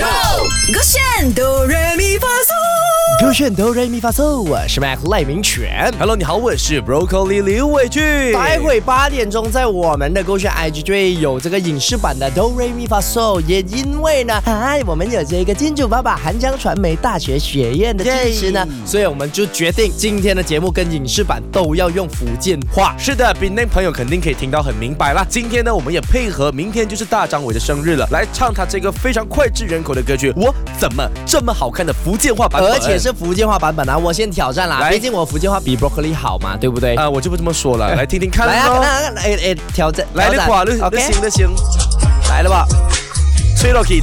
Go， 勾选哆来咪发嗦， 勾选哆来咪发嗦，我是 Mac 赖明全。 Hello， 你好，我是 Broccoli 刘伟俊。 待会8点钟在我们的勾选 IG 就会有这个影视版的哆来咪发嗦，也因为呢，我们有这个金主爸爸韩江传媒大学学院的支持呢，所以我们就决定今天的节目跟影视版都要用福建话。 是的，闽南朋友肯定可以听到很明白啦。今天呢，我们也配合明天就是大张伟的生日了，来唱他这个非常脍炙人口的歌曲《我怎么这么好看》的福建话版本， 而且是福建话版本啊！我先挑战啦，毕竟我福建话比 Broccoli 好嘛，对不对？ 我就不这么说了，来听听看。 来啊，挑战， 来的话， 你行，来了吧，吹落去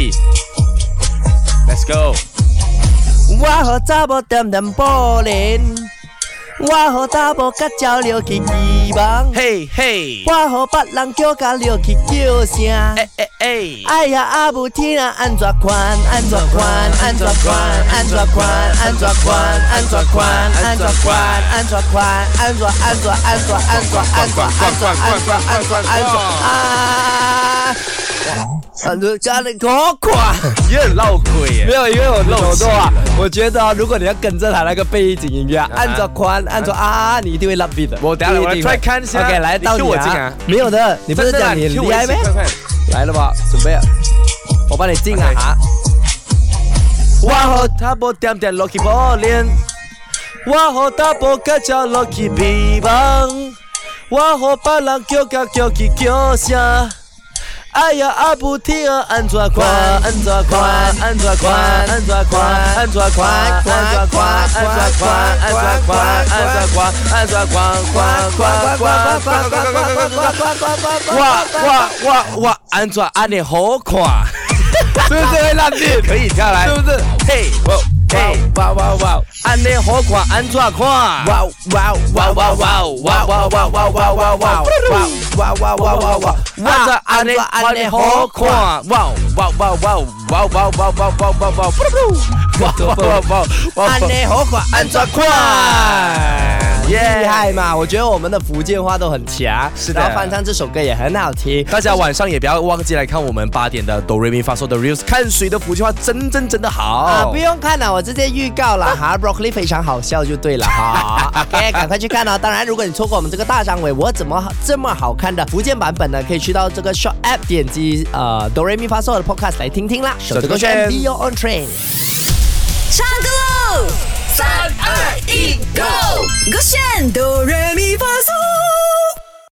，Let's go。 我和查某点点布帘，我和查某甲鸟落去期望， 嘿嘿， 我和别人叫甲落去叫声，哎呀阿母天啊，安怎款，安怎款，安怎款，安怎款，安怎款，安怎款，安怎款，安怎款，安怎家里好快， 也很闹鬼耶。 没有，因为我漏错啊。我觉得如果你要跟着他那个背景音乐，按着宽，按着你一定会 love beat 的。 我等下我来 try 看一下。 OK， 来到你啊。没有的，你不是讲你厉害咩？来了吧，准备，我帮你进啊哈。 我和他不点点落去波脸，我和他不甲叫落去皮棒，我和别人叫去叫声。哎呀，阿不听啊，安怎款，安怎款，安怎款，安怎款，安怎款，安怎款，安怎款，安怎款，安怎款，安怎款，哇，安怎安尼好看， 是不是会烂地？ 可以跳来， 是不是？ 嘿，哇，安尼好看，安怎看？哇，安尼好看， 安尼好看，安怎看？厉害嘛！我觉得我们的福建话都很强， 是的。 然后翻唱这首歌也很好听。 大家晚上也不要忘记来看我们8点的哆瑞咪发嗦的 reels， 看谁的福建话真的好不用看了，我直接预告了哈。Broccoli 非常好笑就对了哈。OK， 赶快去看哦。当然，如果你错过我们这个大张伟我怎么这么好看的福建版本呢？可以去到这个 Short App 点击哆瑞咪发嗦的 Podcast 来听听啦。手指勾选 Be Your Own Train， 唱歌喽！3、2、1，Go！ 勾选哆来咪发嗦。